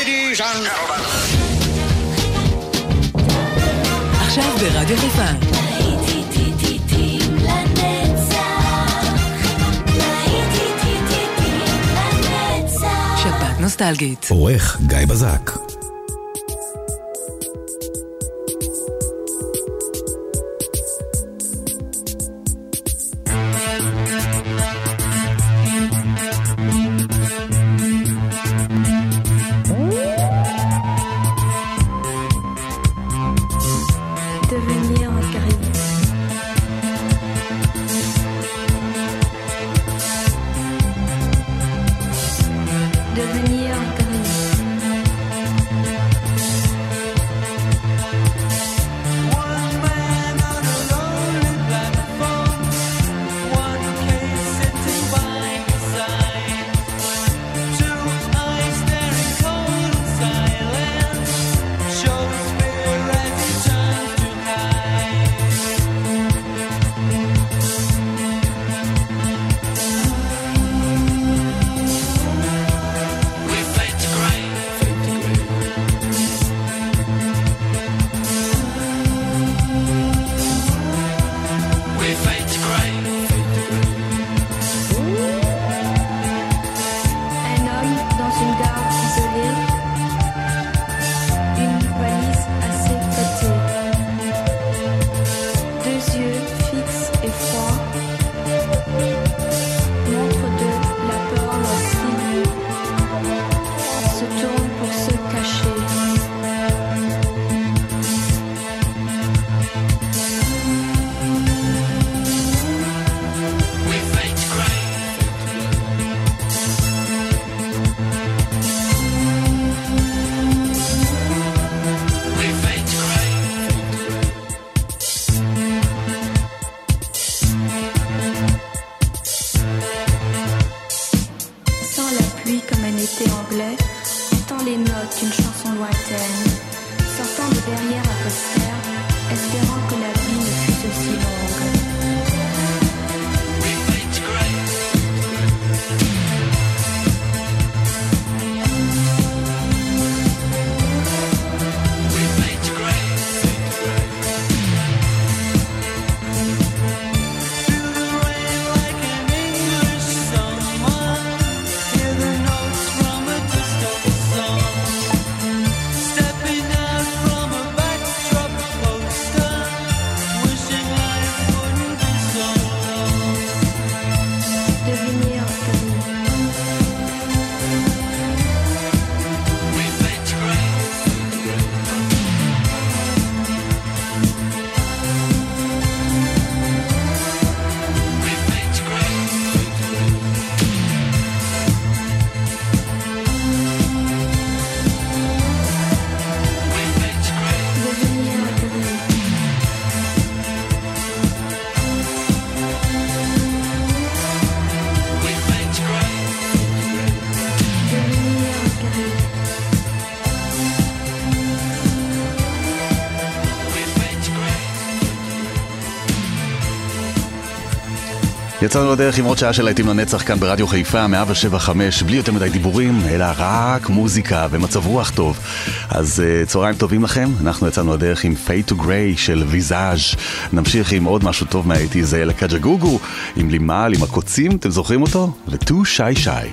Ladies and gentlemen. עכשיו ברדיו חיפה. שבת נוסטלגית. עורך גיא בזק. יצאנו לדרך עם עוד שעה של להיטים לנצח כאן ברדיו חיפה 107.5, בלי יותר מדי דיבורים, אלא רק מוזיקה ומצב רוח טוב. אז צהריים טובים לכם, אנחנו יצאנו לדרך עם Fade to Grey של ויזאז'. נמשיך עם עוד משהו טוב מהאיטי, זה לקג'ה גוגו, עם לימל, עם הקוצים, אתם זוכרים אותו? ו-Too Shy Shy.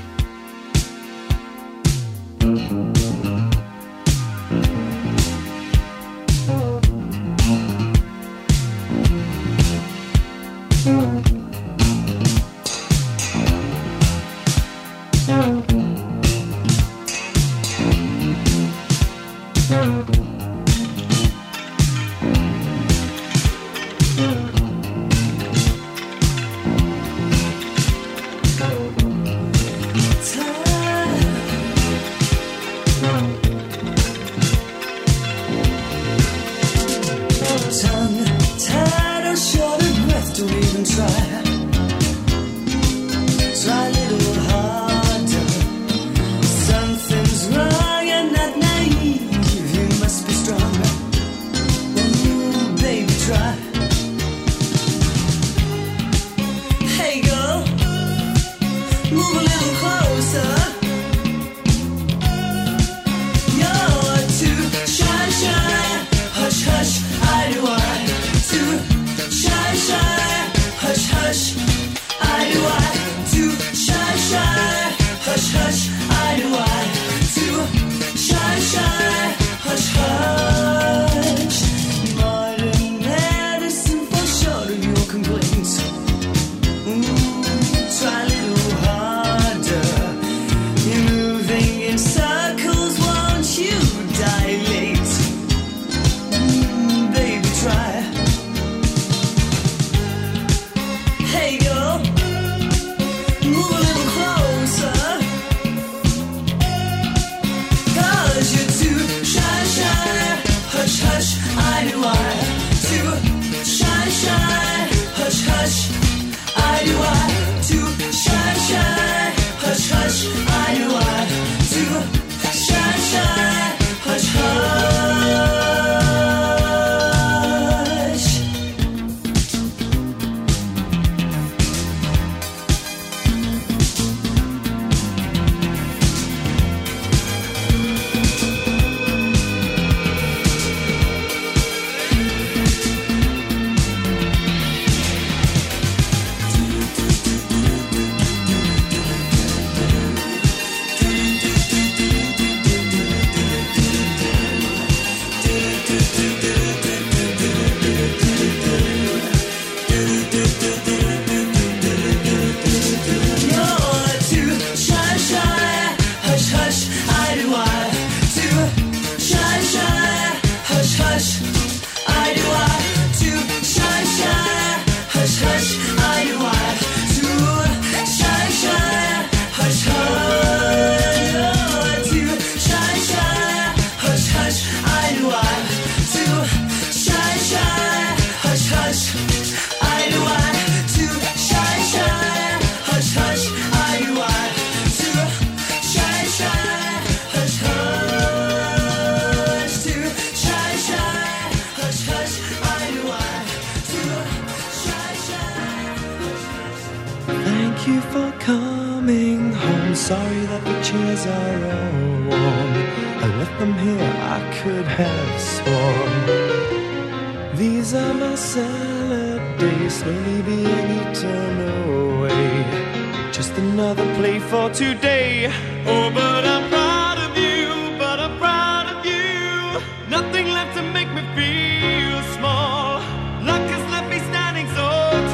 days are all worn. I left them here, I could have sworn. These are my salad days, slowly being eaten away. Just another play for today. Oh, but I'm proud of you, but I'm proud of you. Nothing left to make me feel small. Luck has left me standing so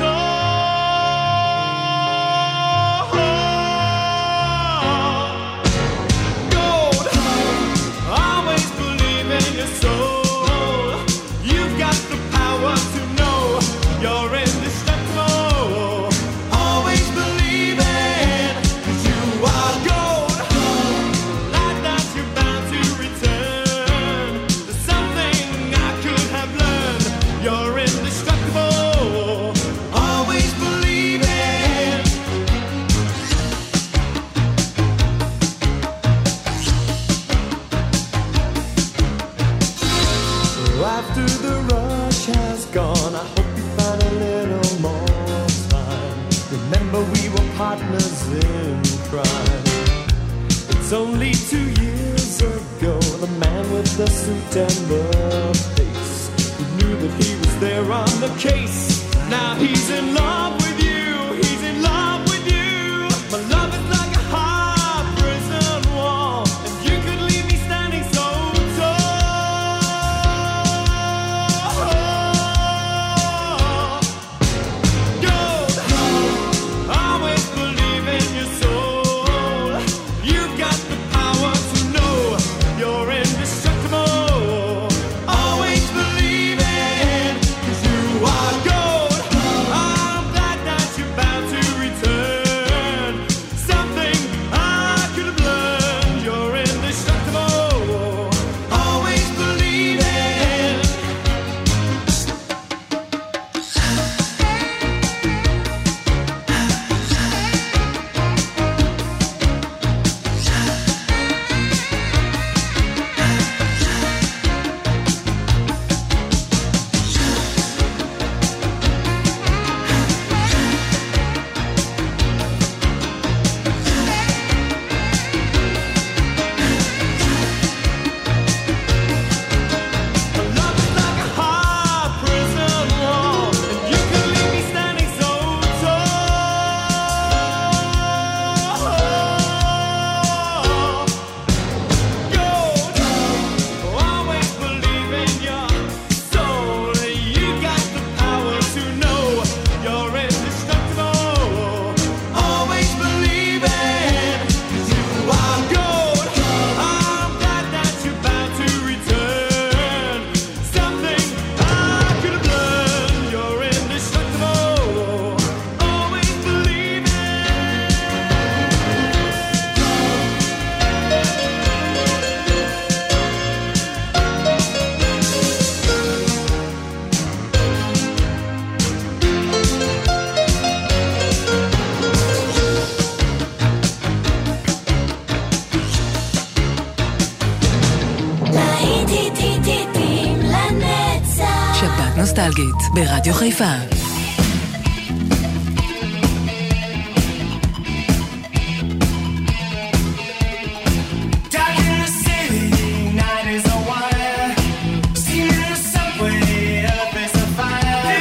tall. Gold, always believe in your soul. You've got the power to know you're indestructible. Always believe it, 'cause you are gold. Like that you're bound to return. There's something I could have learned. You're indestructible. Always believe it. After the rush has gone, I hope you find a little more time. Remember we were partners in crime. It's only 2 years ago, the man with the suit and the face, who knew that he was there on the case. Now he's in love with you, he's in love with you. My love is like a high prison wall, and you could leave me standing so tall. Gold, always believe in your soul. You've got the power to know you're indestructible. Always believe it, 'cause you are gold. I'm glad that you're bound to return. Something I could have learned. You're indestructible. Always believe it. Love is like a high prison wall, and you could leave me standing so tall. Gold, always believe in your soul. You got the power to know you're indestructible. Always believe it, 'cause you are gold. I'm glad that you're bound to return. Something I could have learned. You're indestructible. Always believe it. להיטים לנצח. שבת נוסטלגית ברדיו חיפה. Dark in the city, night is a wire. Steam in the subway, earth is a fire.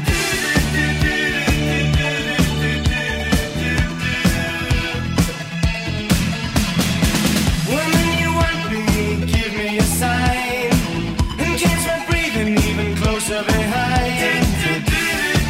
Woman, you want me, give me a sign. And catch my breathing even closer behind.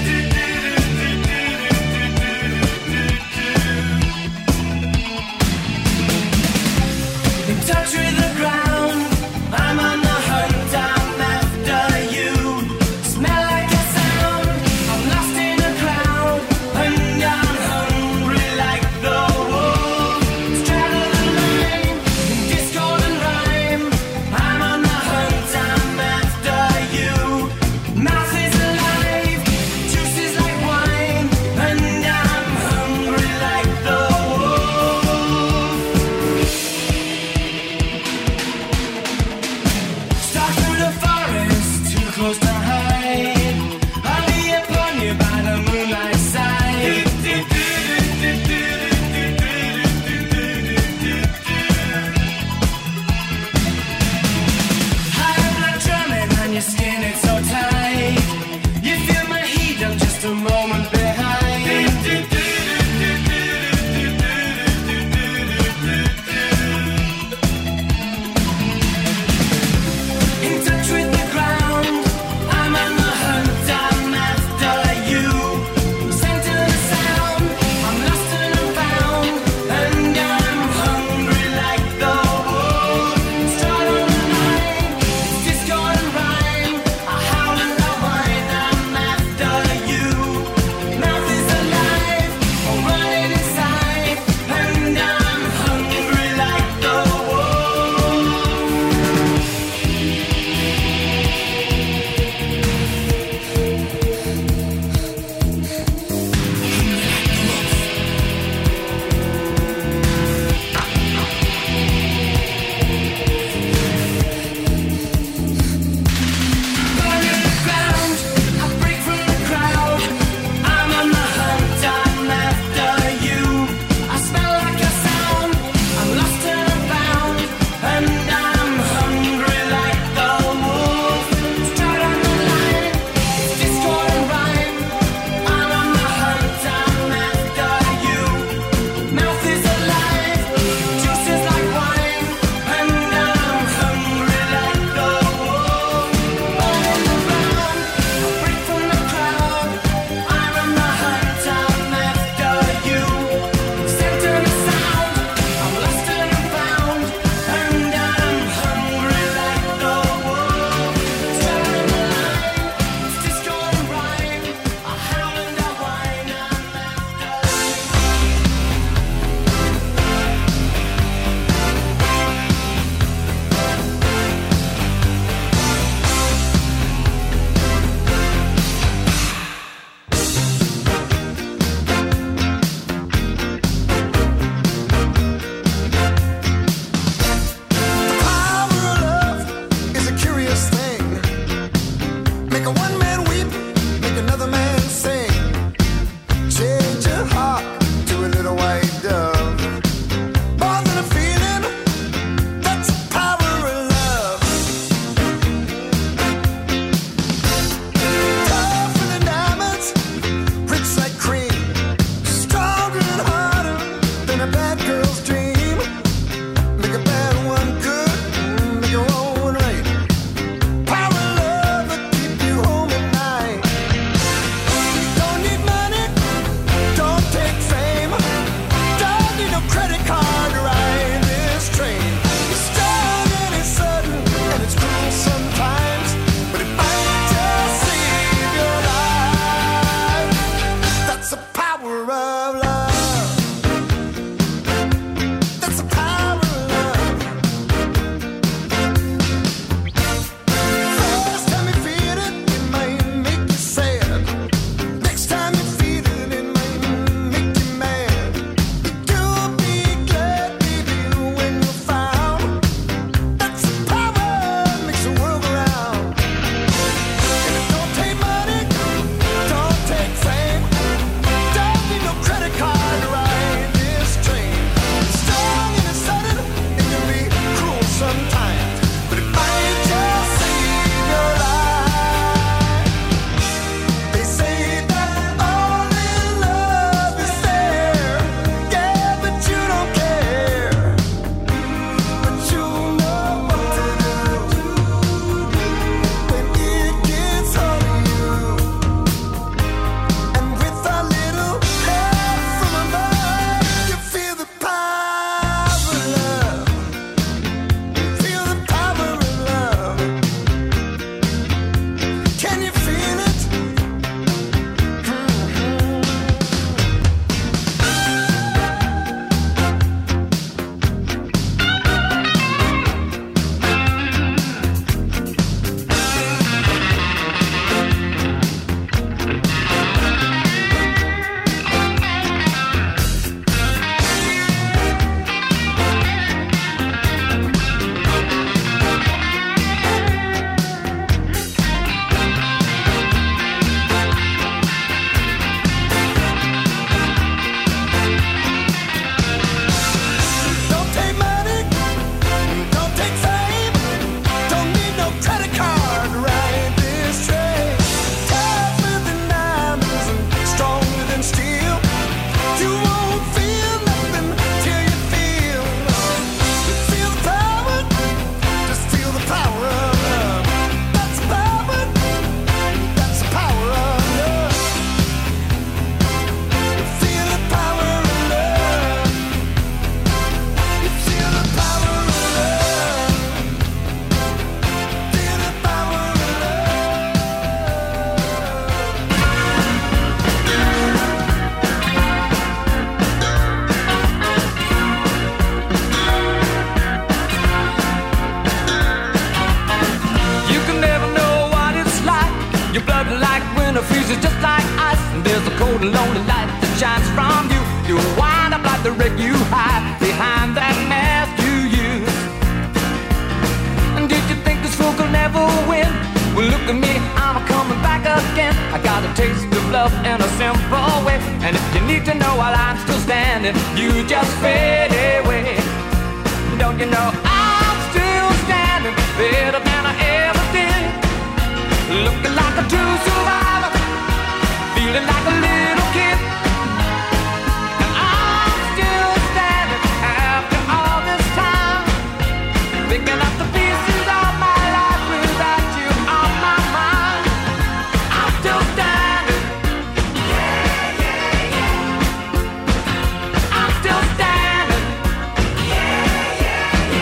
the freezes just like ice, and there's a cold and lonely light that shines from you. You wind up like the wreck you hide behind that mask you use. And did you think this fool could never win? Well, look at me, I'm coming back again. I got a taste of love in a simple way, and if you need to know while I'm still standing, you just fade away. Don't you know I'm still standing better than I ever did, looking like a true survivor, feeling like a little kid. And I'm still standing after all this time, picking up the pieces of my life without you on my mind. I'm still standing. Yeah, yeah, yeah. I'm still standing. Yeah, yeah,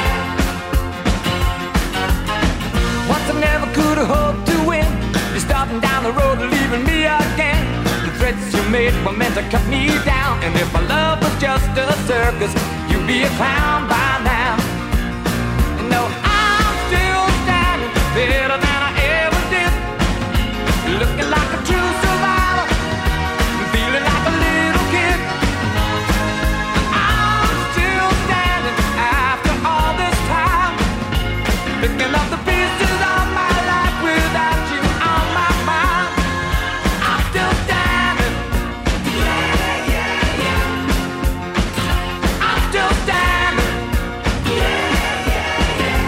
yeah. Once I never could have hoped to win. You're starting down the road and leaving me again. The threats you made were meant to cut me down, and if my love was just a circus, you'd be a clown by now. No, I'm still standing better than I ever did, looking like a true survivor, feeling like a little kid. I'm still standing after all this time, picking up the pieces of my life without you on my mind. I'm still standing. Yeah, yeah, yeah. I'm still standing. Yeah, yeah, yeah.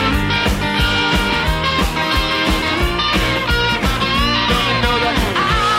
Don't you know that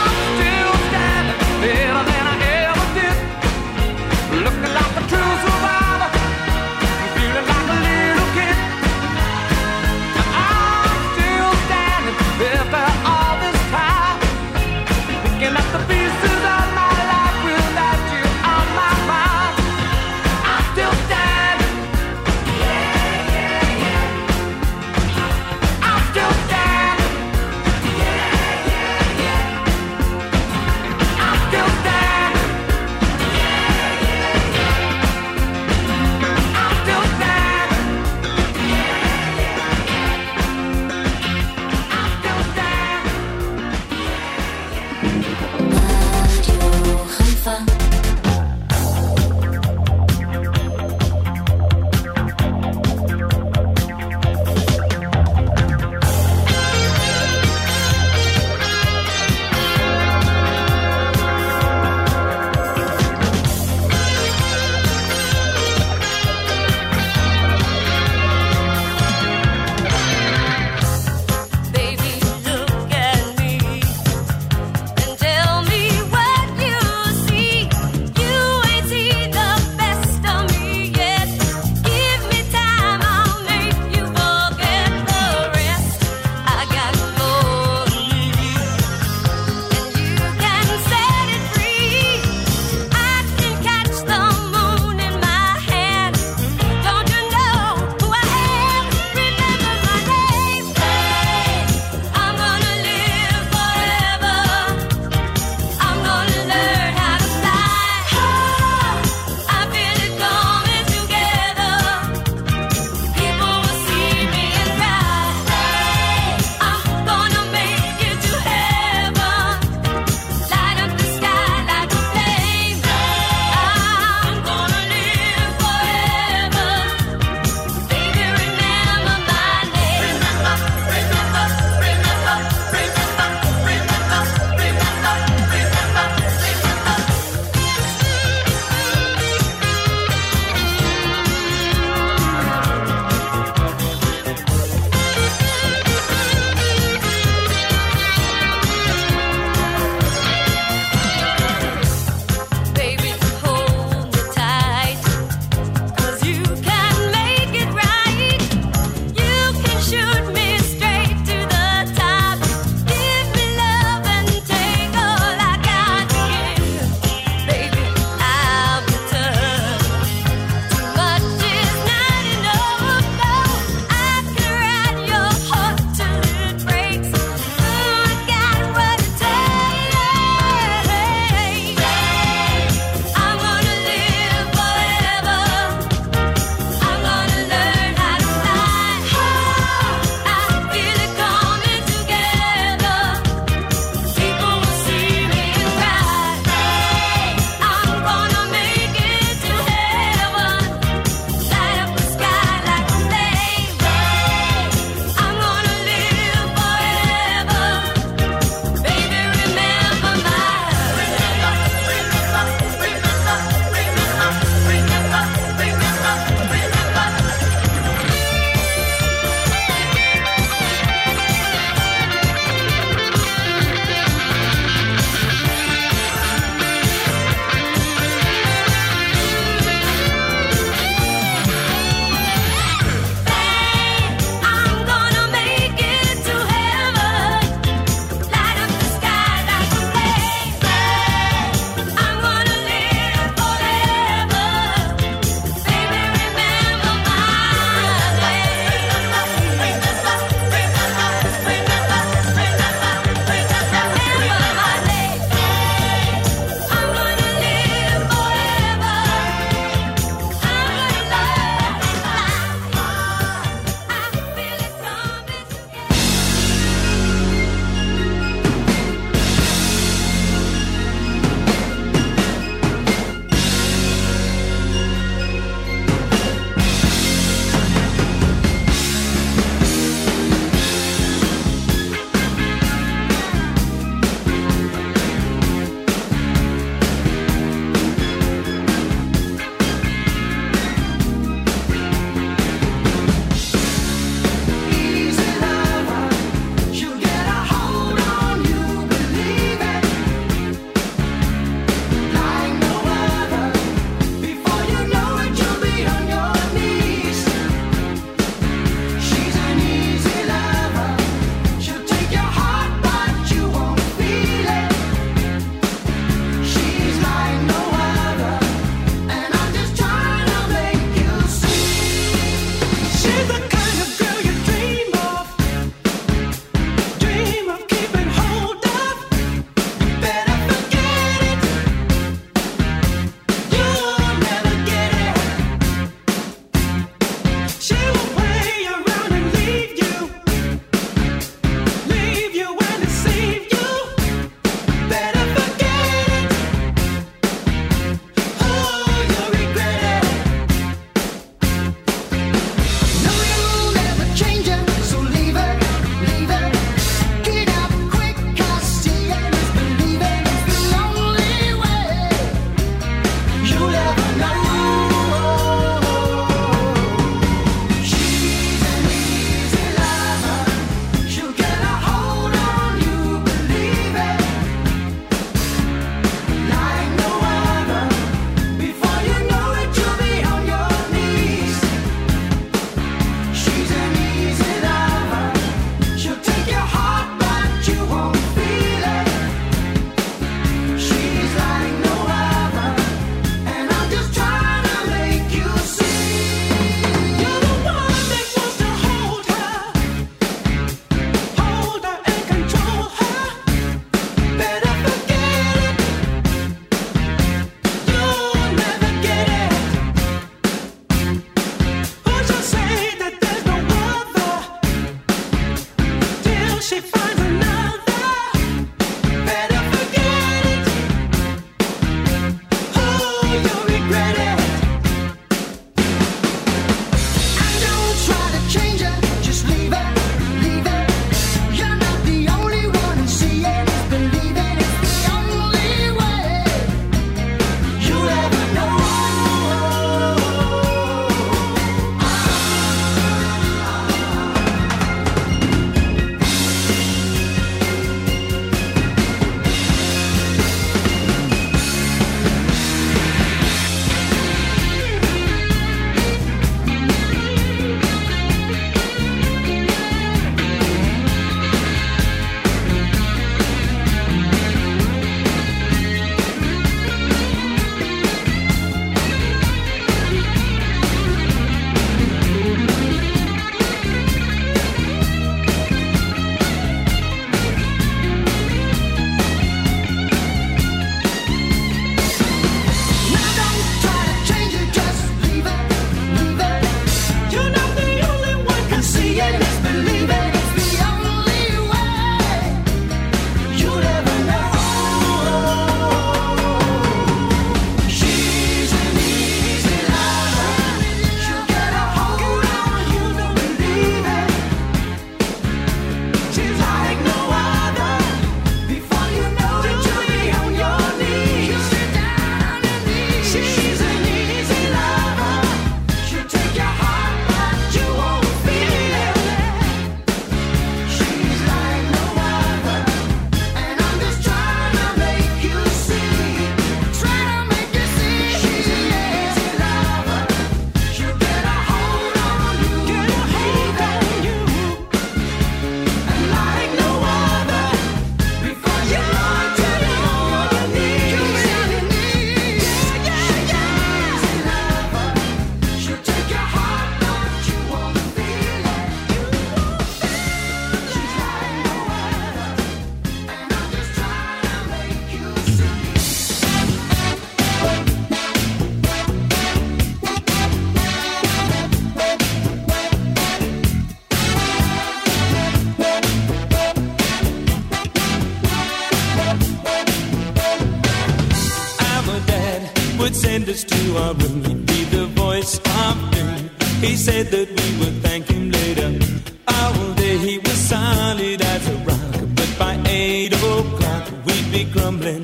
send us to our room. He'd be the voice of doom. He said that we would thank him later. All day he was solid as a rock, but by 8 o'clock we'd be grumbling.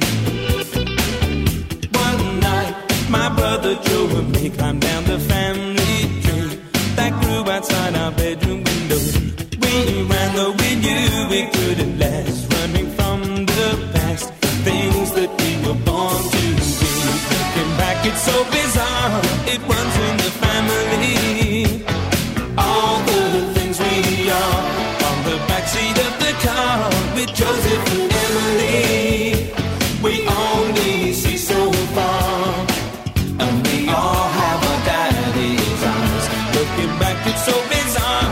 One night my brother Joe and me climbed down the family tree that grew outside our bedroom window. We ran though we knew we couldn't last, running from the past, things that we were born to be. Looking back, it's so bizarre, it runs in the family. All the things we are on the backseat of the car with Joseph and Emily. We only see so far, and we all have our daddy's eyes. Looking back, it's so bizarre.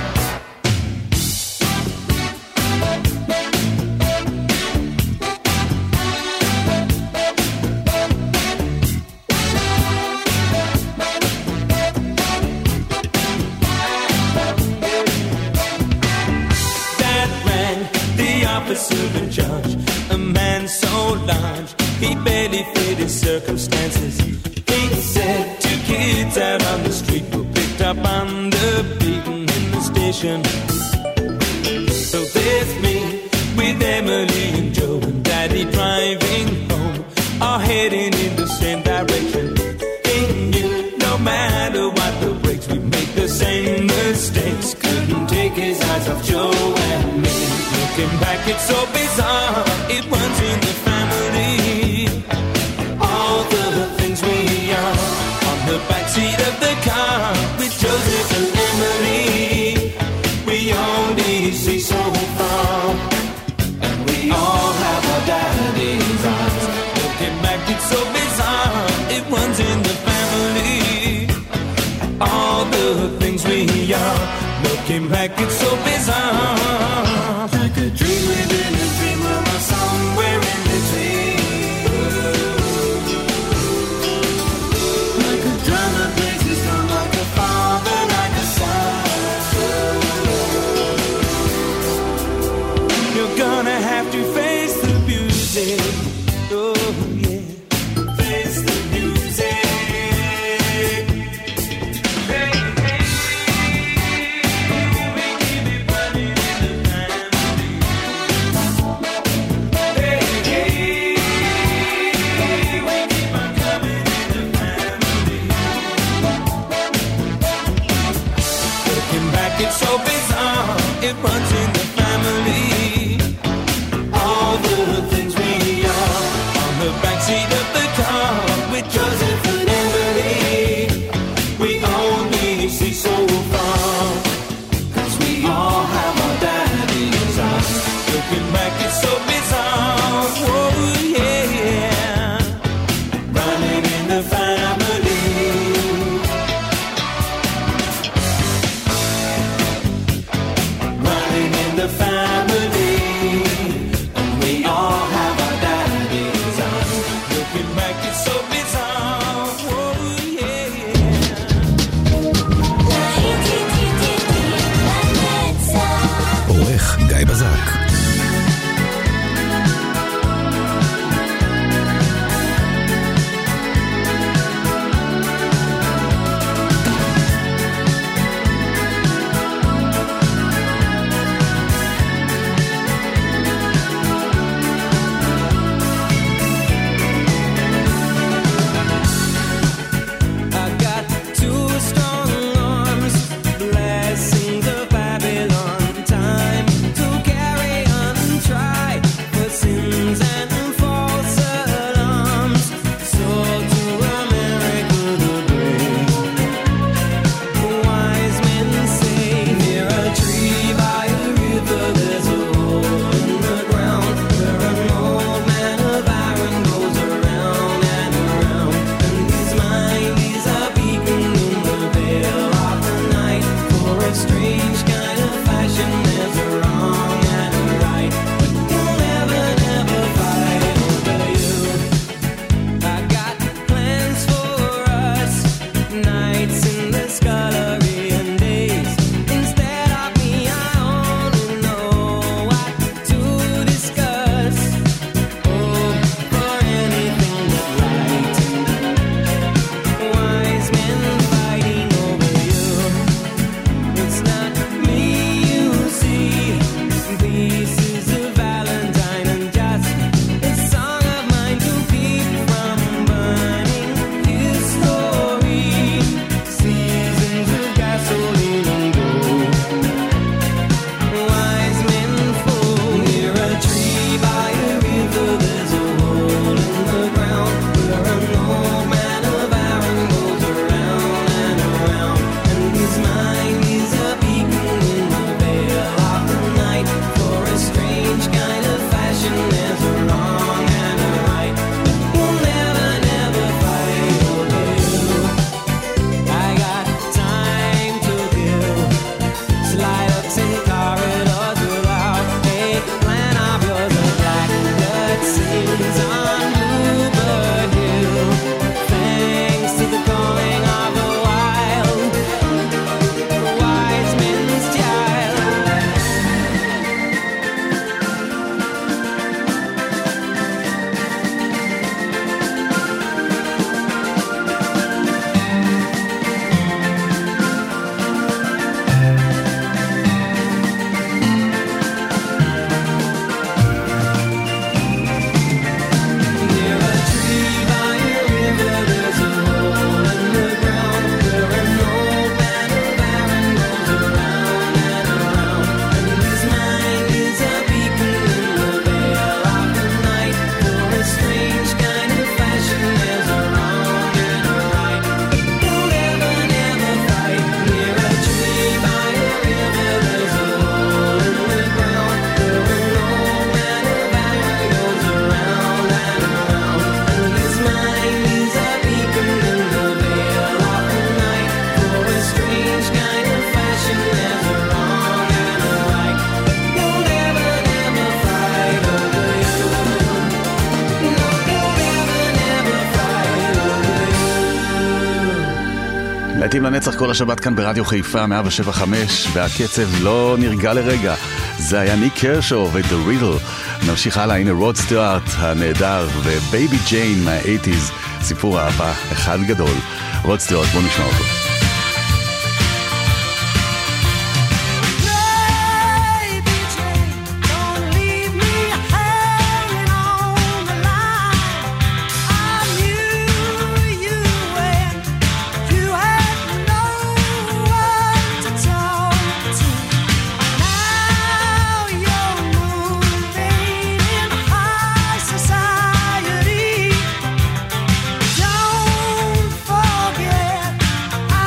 Officer in charge, a man so large, he barely fit his circumstances. He said 2 kids out on the street were picked up on the beaten in the station. So there's me with Emily and Joe and Daddy driving home, all heading in the same direction. He knew no matter what the brakes, we'd make the same mistakes. Couldn't take his eyes off Joe and me. Looking back, it's so bizarre, it runs in the family. All the things we are on the backseat of the car with Joseph and Emily. We only see so far, and we all have our daddy's eyes. Looking back, it's so bizarre, it runs in the family. All the things we are, looking back, it's so bizarre. Like a dream within a dream, we're somewhere in between. Like a drama plays its drum, like a father, like a son. You're gonna have to face the music. Oh yeah, face the music. Hey, hey, we keep it running in the להיטים לנצח כל השבת כאן ברדיו חיפה 107.5, והקצב לא נרגע לרגע. זה היה ניק קרשו ו-The Riddle. נמשיך הלאה, הנה רוד סטיוארט הנהדר ובייבי ג'יין מה-80s, סיפור אהבה אחד גדול. רוד סטיוארט, בוא נשמע אותו. Don't forget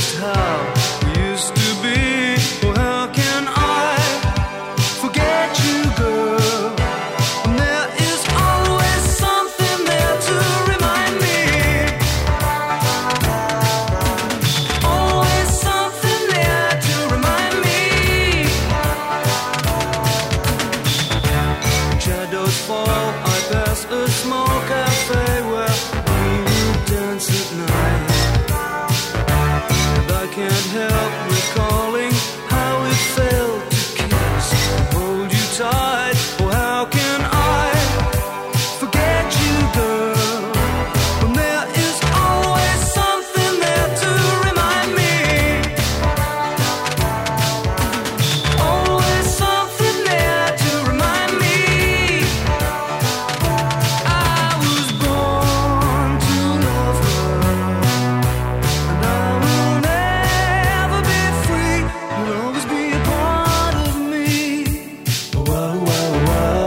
just how we used to be. Oh, how can I forget you, girl? And there is always something there to remind me. Always something there to remind me. Shadows fall, I pass a small cafe where we would dance at night. And I can't help recalling how it felt to kiss and hold you tight. Oh, how can I forget you, girl? When there is always something there to remind me. Always something there to remind me. I was born to love her, and I will never be free. You'll always be a part of me. Wow, wow, wow.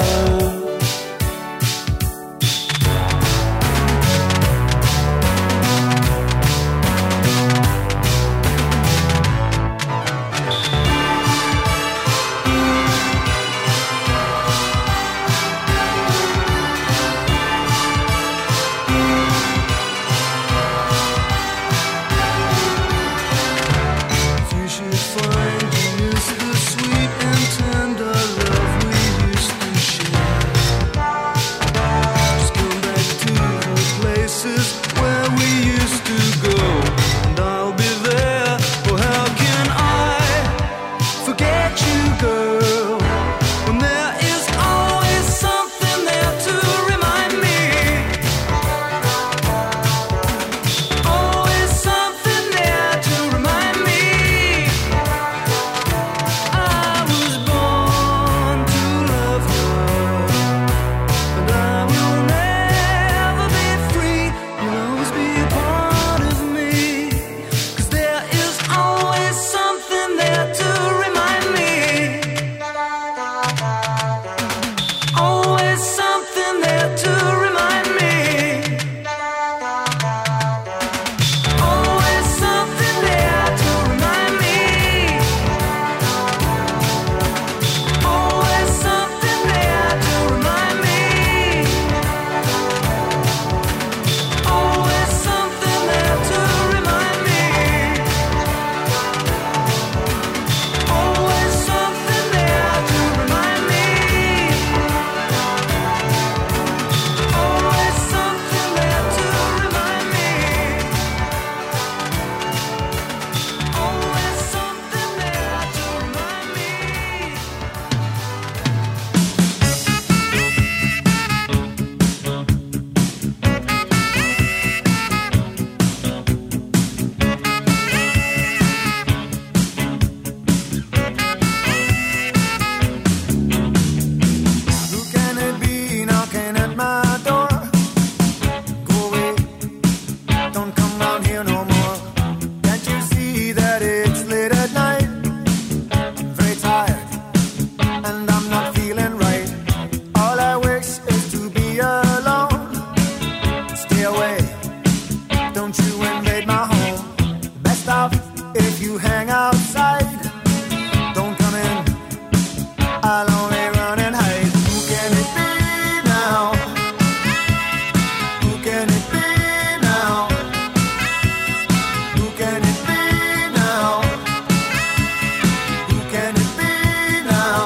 If you should find you miss the sweet and tender love we used to share, just come back to the places where we used to go, and I'll be there. Oh, how can I forget you, girl? When there is always something there to remind me. Always something there to remind me. I was born to love her, and I will never be free. You'll always be a part of me. 'Cause there is always something there to remind me. Always something there to remind me. Always something there to remind me. Always something there to remind me. Always something there to remind me. Always something there to remind me. Always something there to remind me. Always something there to remind me. Who can it be knocking at my door? Go away, don't come round here no more. Can't you see that it's late at night? I'm very tired, and I'm not feeling right. All I wish is to be alone. Stay away, don't you invade my home. Best off if you hang outside. Don't come in, I'll only run and hide. Who can it be now? Who can it be now? Who can it be now? Who can it be now?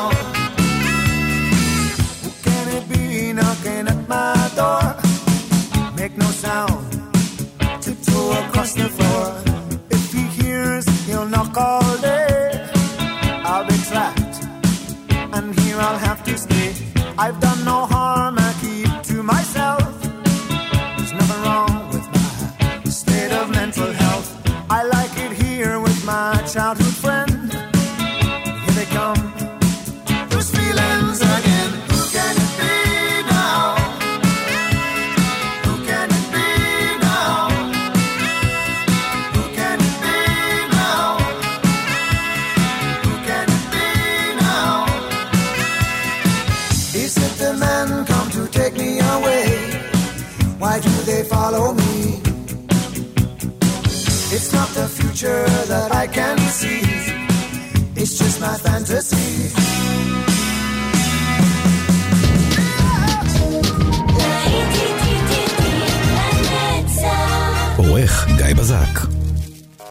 Who can it be knocking at my door? Make no sound, tiptoe across the floor. If he hears, he'll knock all day. I'll be trapped, and here I'll have to stay. I've done no harm, I keep to myself. There's nothing wrong with my state of mental health. I like it here with my childhood friend. Here they come, those feelings again. Who can it be now? Who can it be now? Who can it be now? Who can it be now? Is it the men come to take me away? Why do they follow me? It's not the future future that I can see. It's just my fantasy. להיטים לנצח. עורך גיא בזק.